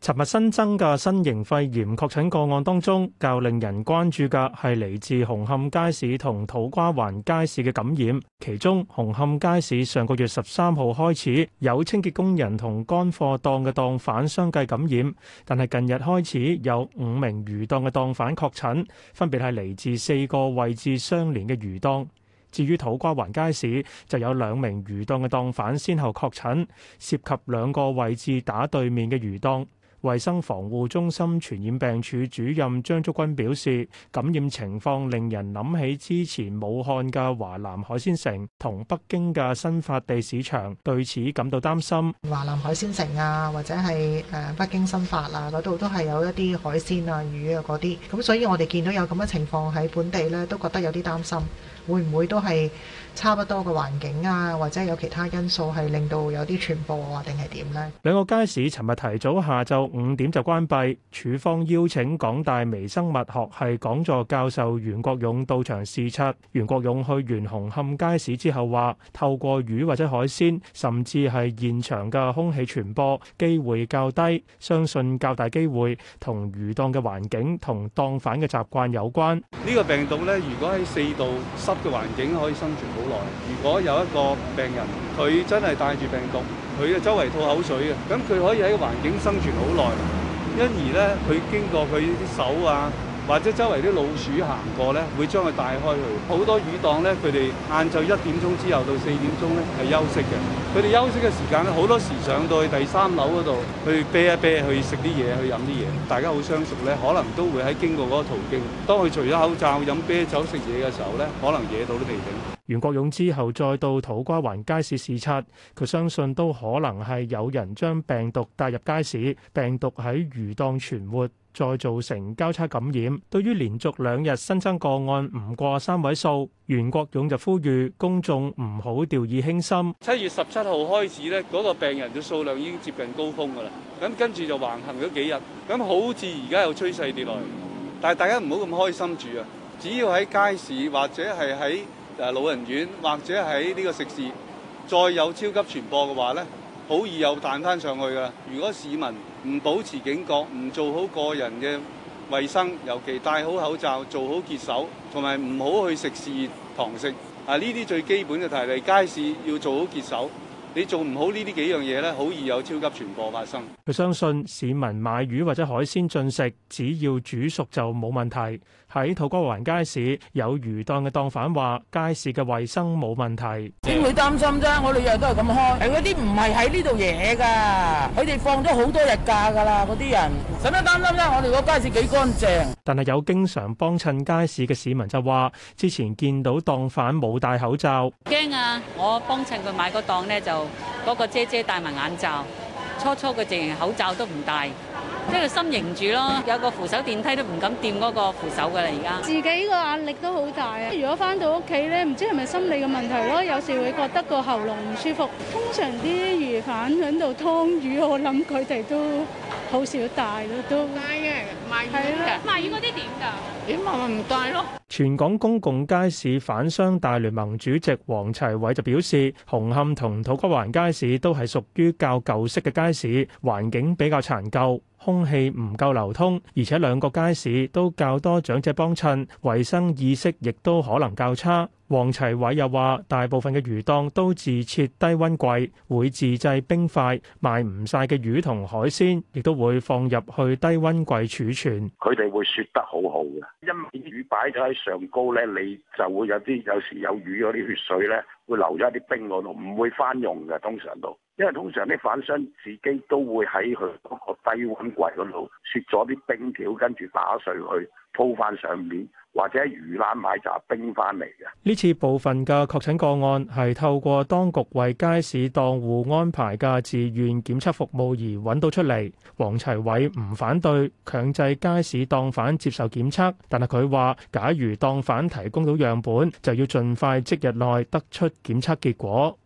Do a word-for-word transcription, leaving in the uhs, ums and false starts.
尋日新增嘅新型肺炎確診個案當中，較令人關注嘅係嚟自紅磡街市同土瓜灣街市嘅感染。其中，紅磡街市上個月十三號開始有清潔工人同乾貨檔嘅檔販相繼感染，但係近日開始有五名魚檔嘅檔販確診，分別係嚟自四個位置相連嘅魚檔。至於土瓜灣街市，就有兩名魚檔嘅檔販先後確診，涉及兩個位置打對面嘅魚檔。衛生防護中心傳染病處主任張竹君表示，感染情況令人諗起之前武漢嘅華南海鮮城同北京嘅新發地市場，對此感到擔心。 華南海鮮城啊，或者係誒北京新發啊嗰度都係有一啲海鮮啊、魚啊嗰啲，咁所以我哋見到有咁嘅情況喺本地咧，都覺得有啲擔心，會唔會都係差不多嘅環境啊，或者有其他因素係令到有啲傳播啊，定係點呢？ 兩個街市尋日提早下晝五點就關閉，署方邀請港大微生物學系講座教授袁國勇到場視察。袁國勇去完紅磡街市之後話，透過魚或者海鮮，甚至係現場嘅空氣傳播機會較低，相信較大機會同魚檔嘅環境同檔販嘅習慣有關。 呢個病毒咧，如果喺四度濕嘅環境可以生存好耐，如果有一個病人佢真係帶住病毒，佢嘅周圍吐口水嘅，咁佢可以喺個環境生存好耐。因而咧，佢經過佢啲手啊，或者周圍啲老鼠行過咧，會將佢帶開去。好多魚檔咧，佢哋晏晝一點鐘之後到四點鐘咧係休息嘅。佢哋休息嘅時間咧，好多時上到去第三樓嗰度去啤一啤，去食啲嘢，去飲啲嘢。大家好相熟咧，可能都會喺經過嗰個途徑。當佢除咗口罩飲啤酒食嘢嘅時候咧，可能惹到都未定。 袁國勇之後再到土瓜灣街市視察，佢相信都可能係有人將病毒帶入街市，病毒喺魚檔存活，再造成交叉感染。對於連續兩日新增個案唔過三位數，袁國勇就呼籲公眾唔好掉以輕心。 七月十七號開始咧，嗰個病人嘅數量已經接近高峰㗎啦。咁跟住就橫行咗幾日，咁好似而家有趨勢跌落嚟，但係大家唔好咁開心住啊！只要喺街市或者係喺誒老人院或者喺呢個食肆再有超級傳播嘅話咧，好易又彈翻上去㗎。如果市民唔保持警覺，唔做好個人嘅衛生，尤其戴好口罩、做好潔手，同埋唔好去食肆堂食啊！呢啲最基本嘅提例，街市要做好潔手。你做唔好呢啲幾樣嘢咧，好易有超級傳播發生。 佢相信市民買魚或者海鮮進食，只要煮熟就冇問題。喺土瓜灣街市有魚檔嘅檔販話，街市嘅衞生冇問題。 點會擔心啫？我哋日日都係咁開，係嗰啲唔係喺呢度嘢㗎，佢哋放咗好多日假㗎啦，嗰啲人使乜擔心啫？我哋個街市幾乾淨。但係有經常幫襯街市嘅市民就話，之前見到檔販冇戴口罩， 驚啊！我幫襯佢買個檔咧，就嗰個姐姐戴埋眼罩，初初佢淨係口罩都唔戴。即係心凝住咯，有個扶手電梯都唔敢掂嗰個扶手噶啦，而家自己個壓力都好大啊！如果翻到屋企咧，唔知係咪心理嘅問題咯，有時會覺得個喉嚨唔舒服。通常啲魚販喺度劏魚，我諗佢哋都好少戴咯，都戴嘅賣魚嘅賣魚嗰啲點㗎？點咪唔戴咯？ 全港公共街市販商大聯盟主席黃齊偉就表示，紅磡同土瓜灣街市都係屬於較舊式嘅街市，環境比較殘舊，空氣唔夠流通，而且兩個街市都較多長者幫襯，衛生意識亦都可能較差。黃齊偉又話，大部分嘅魚檔都自設低溫櫃，會自製冰塊，賣唔晒嘅魚同海鮮，亦都會放入去低溫櫃儲存。 佢哋會雪得好好嘅，因為魚擺咗喺上高咧，你就會有啲有時有魚嗰啲血水咧，會留咗喺啲冰嗰度，唔會翻用嘅，通常都。因為通常啲販商自己都會喺佢嗰個低溫櫃嗰度雪咗啲冰條，跟住打碎去鋪翻上面，或者喺魚欄買紮冰翻嚟嘅。 呢次部分嘅確診個案係透過當局為街市檔戶安排嘅自願檢測服務而揾到出嚟。黃齊偉唔反對強制街市檔販接受檢測，但係佢話，假如檔販提供到樣本，就要盡快即日內得出檢測結果。